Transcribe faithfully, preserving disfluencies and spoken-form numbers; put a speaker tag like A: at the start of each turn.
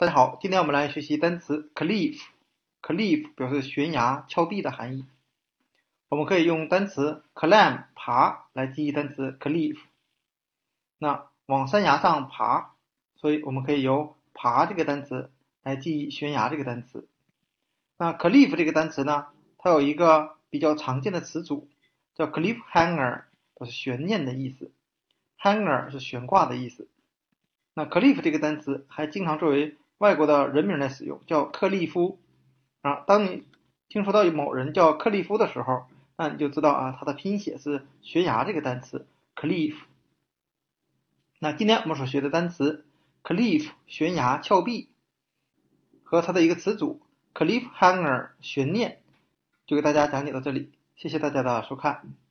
A: 大家好，今天我们来学习单词 cliff。cliff 表示悬崖、峭壁的含义。我们可以用单词 climb 爬来记忆单词 cliff。那往山崖上爬，所以我们可以由爬这个单词来记忆悬崖这个单词。那 cliff 这个单词呢，它有一个比较常见的词组叫 cliffhanger， 都是悬念的意思。hanger 是悬挂的意思。那 cliff 这个单词还经常作为外国的人名来使用，叫克利夫啊。当你听说到某人叫克利夫的时候，那你就知道啊，它的拼写是悬崖这个单词 cliff。那今天我们所学的单词 cliff 悬崖、峭壁和它的一个词组 cliffhanger 悬念，就给大家讲解到这里，谢谢大家的收看。